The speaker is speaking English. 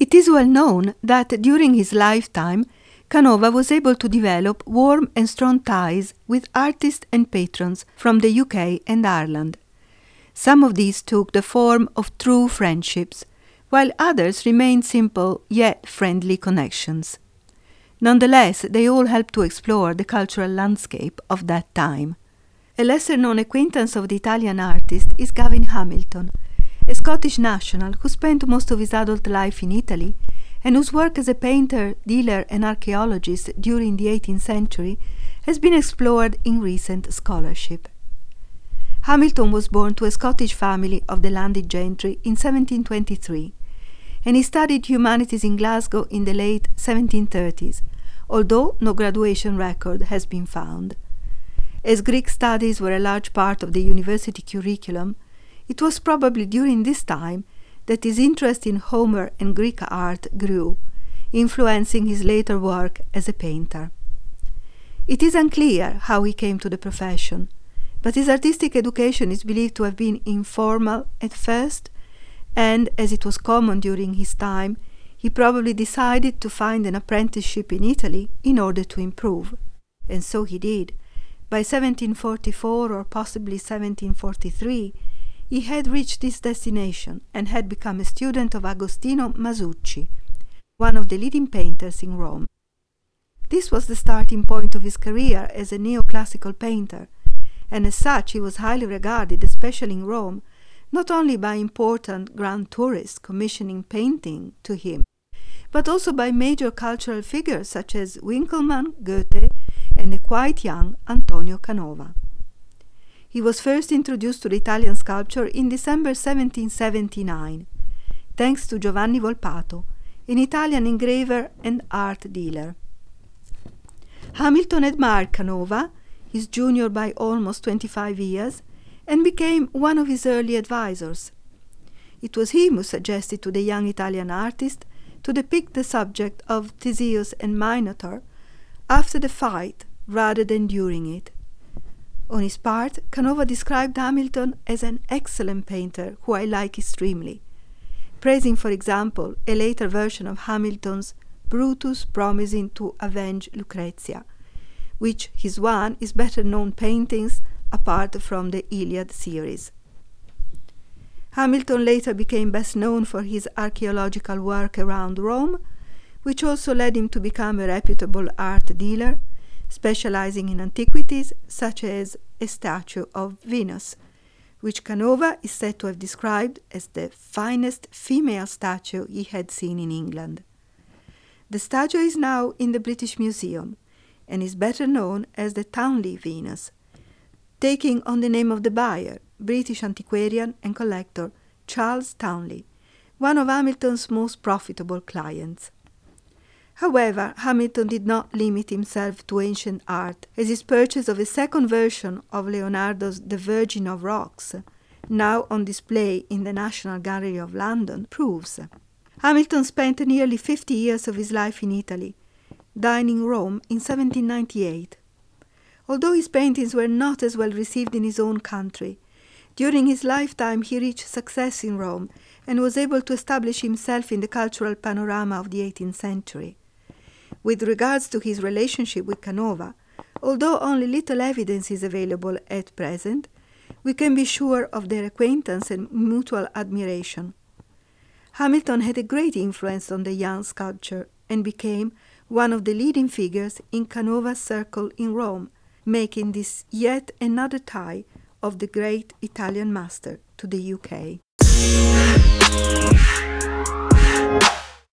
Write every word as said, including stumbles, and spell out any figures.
It is well known that during his lifetime, Canova was able to develop warm and strong ties with artists and patrons from the U K and Ireland. Some of these took the form of true friendships, while others remained simple yet friendly connections. Nonetheless, they all helped to explore the cultural landscape of that time. A lesser-known acquaintance of the Italian artist is Gavin Hamilton, a Scottish national who spent most of his adult life in Italy and whose work as a painter, dealer and archaeologist during the eighteenth century has been explored in recent scholarship. Hamilton was born to a Scottish family of the landed gentry in seventeen twenty-three, and he studied humanities in Glasgow in the late seventeen thirties, although no graduation record has been found. As Greek studies were a large part of the university curriculum, it was probably during this time that his interest in Homer and Greek art grew, influencing his later work as a painter. It is unclear how he came to the profession, but his artistic education is believed to have been informal at first, and, as it was common during his time, he probably decided to find an apprenticeship in Italy in order to improve. And so he did. By seventeen forty-four or possibly seventeen forty-three, he had reached this destination and had become a student of Agostino Masucci, one of the leading painters in Rome. This was the starting point of his career as a neoclassical painter, and as such he was highly regarded, especially in Rome, not only by important grand tourists commissioning painting to him, but also by major cultural figures such as Winckelmann, Goethe, and the quite young Antonio Canova. He was first introduced to the Italian sculpture in December seventeen seventy-nine, thanks to Giovanni Volpato, an Italian engraver and art dealer. Hamilton admired Canova, his junior by almost twenty-five years, and became one of his early advisors. It was he who suggested to the young Italian artist to depict the subject of Theseus and Minotaur after the fight rather than during it. On his part, Canova described Hamilton as an excellent painter who I like extremely, praising, for example, a later version of Hamilton's Brutus promising to avenge Lucrezia, which his one is better known paintings apart from the Iliad series. Hamilton later became best known for his archaeological work around Rome, which also led him to become a reputable art dealer, specializing in antiquities such as a statue of Venus, which Canova is said to have described as the finest female statue he had seen in England. The statue is now in the British Museum and is better known as the Townley Venus, taking on the name of the buyer, British antiquarian and collector Charles Townley, one of Hamilton's most profitable clients. However, Hamilton did not limit himself to ancient art, as his purchase of a second version of Leonardo's The Virgin of Rocks, now on display in the National Gallery of London, proves. Hamilton spent nearly fifty years of his life in Italy, dying in Rome in seventeen ninety-eight. Although his paintings were not as well received in his own country, during his lifetime he reached success in Rome and was able to establish himself in the cultural panorama of the eighteenth century. With regards to his relationship with Canova, although only little evidence is available at present, we can be sure of their acquaintance and mutual admiration. Hamilton had a great influence on the young sculptor and became one of the leading figures in Canova's circle in Rome, making this yet another tie of the great Italian master to the U K.